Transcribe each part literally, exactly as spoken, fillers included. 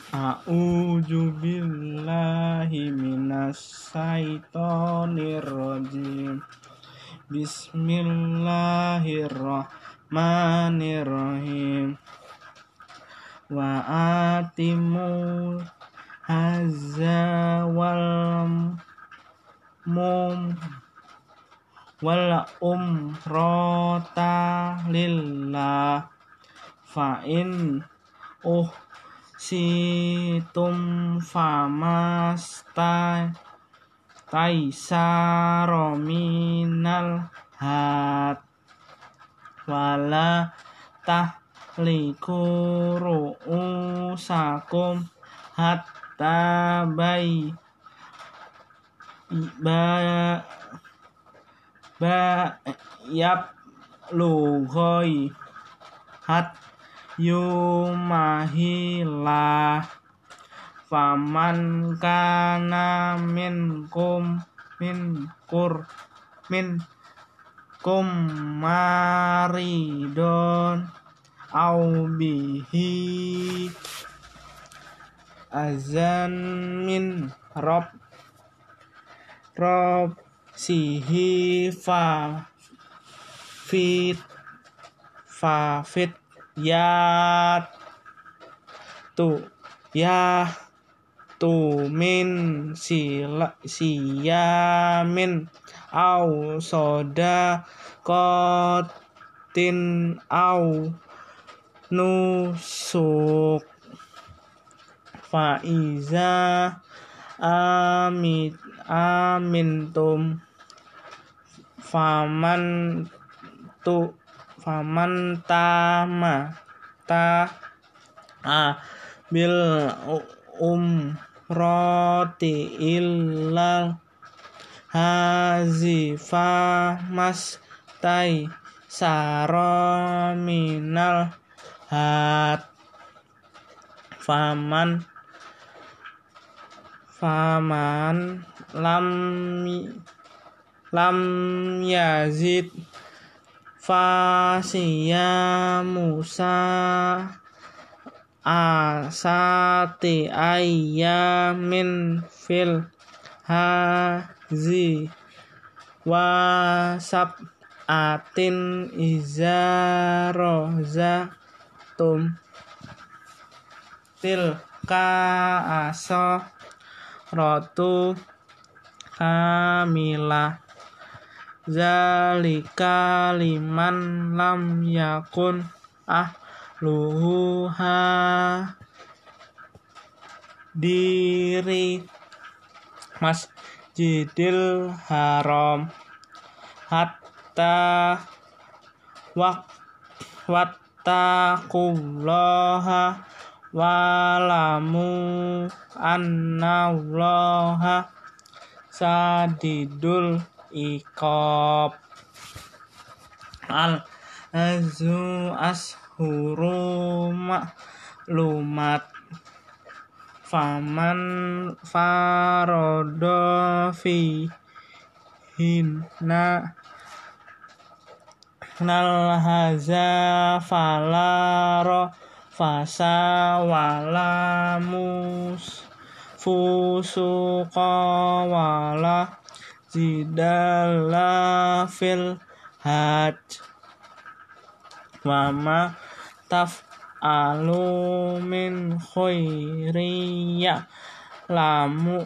A'udzu billahi minas syaitonir rajim. Bismillahirrahmanirrahim. Wa atimu hazza wal mum wal umrata lillah fa in uh situm famasta taisaro minal hat wala tahliku ru'usakum hatta bay ba ba yab lughoi hat yumahilah faman kana minkum min kur min kum maridon au bihi azan min rob rob sihi fa fit fa fit ya tu ya tu min sila siyamin au soda kotin au nusuk faiza amit amintum faman tu faman tama ta a bil um roti illal hazifa mas tai saro minal hat faman faman lam lam yazid fasiya musa asati ayyamin fil hazi wasab atin izaroza tum tilka aso rotu kamilah zalika liman lam yakun ahluha diri masjidil haram hatta wak wattaqullaha walamu annallaha sadidul iqab. Al azu ashuru ma'lumat faman farodo fi hinna nal haza falaro fasa walamus fusuqa wala zidala fil hajj wama taf'alu min khairiyya lamu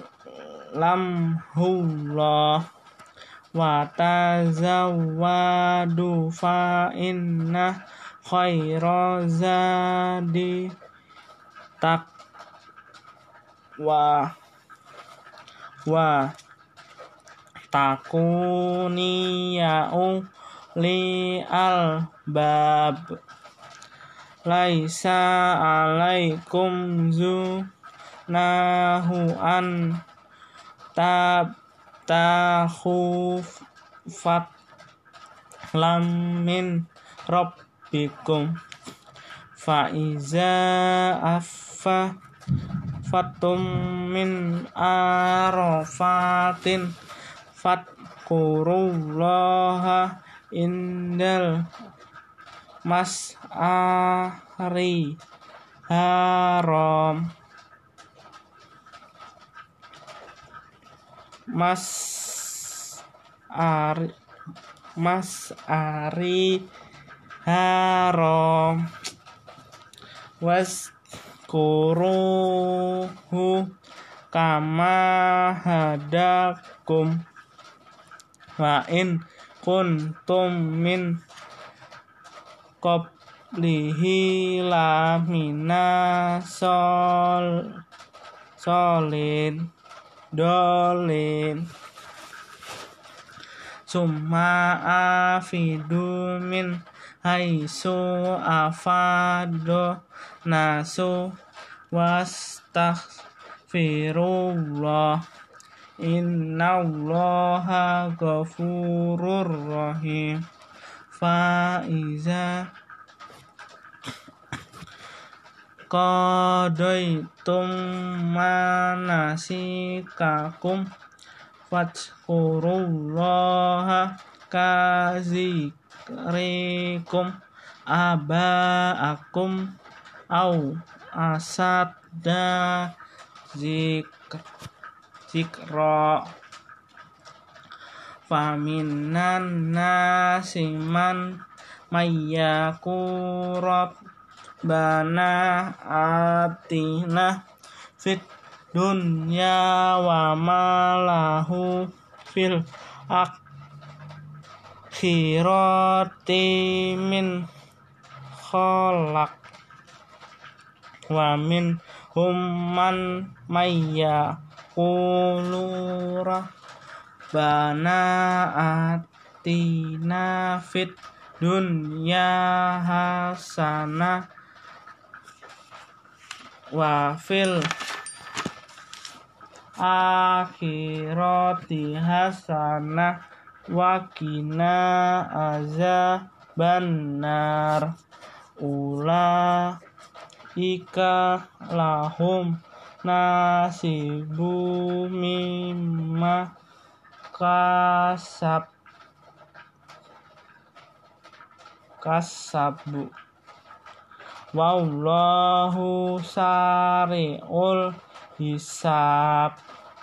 lamhullah wa tazawwadu fa inna khaira zadi taqwa wa takuni ya'u li al bab laisa alaikum zu nahu an tab takhuf fat lam min rabbikum fa iza affa fatum min arafatin fatkurullaha indal mas'ari haram mas ari mas ari harom was kuruhu kama hadakum wa in kuntum min qablihi lamina sol solin dolin summa afidu min haitsu afado nasu wastaghfirullah innallaha ghafurur rahim. Fa iza qadaitum manasikakum fadhkurullaha kazikrikum aba'akum au asadda zikr zikra faminan nasi man mayyakurab bana atina fit dunya wa malahu fil akhirati min khalaq wa min humman mayyaqulu rabbana atina fit dunya hasanah wa fil akhirati hasanah wa qina azabannar ulaika lahum nasibu mimma kasab kasabu wallahu sari'ul hisab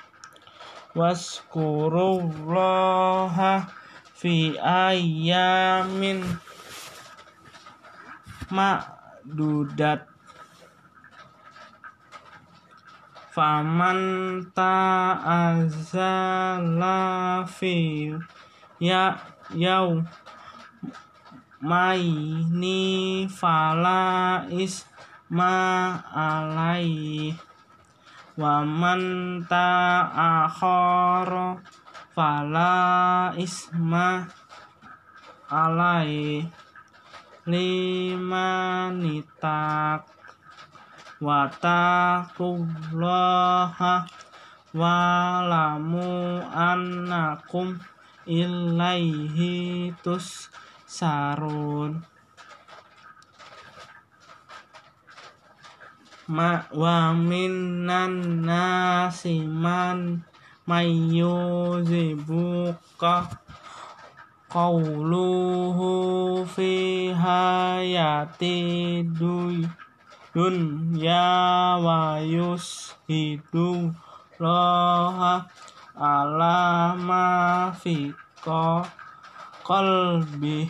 waskurullaha fi ayyamin ma'dudat faman ta'azzala fi ya yaw maini fala isma alaihi wa man ta'akhara fala isma alaihi limanitak wa taqullaha wa lamu annakum ilaihi tus sarun ma wa minan nasi man mayyuzibuka qawluhu fi hayati dunya wa yushidu laha ala ma fi qalbi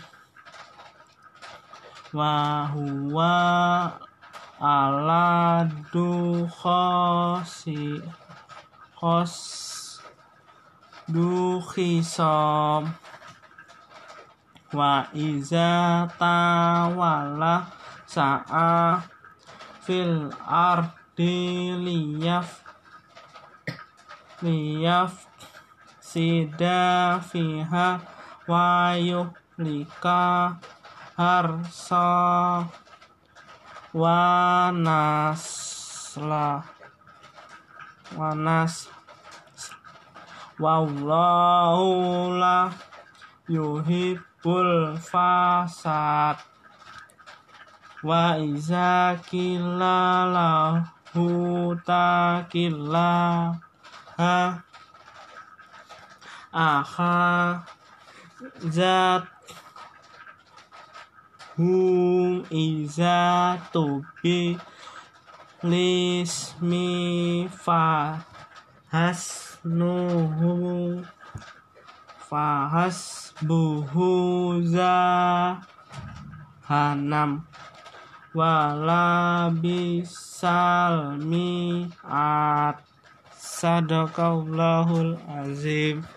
wa huwa ala du khosi khos du khisam wa iza tawala sa'a fil ardi liyaf liyaf sida fiha wa yuhlika harsa wa nasla wa nas wallahu la yuhibbul fasad wa iza qila lahu taqilla ha aha zat hum iza tubi lismi fa has nuhu fahasbuhu zahanam wala bisal mi'at. Sadaqallahul azim.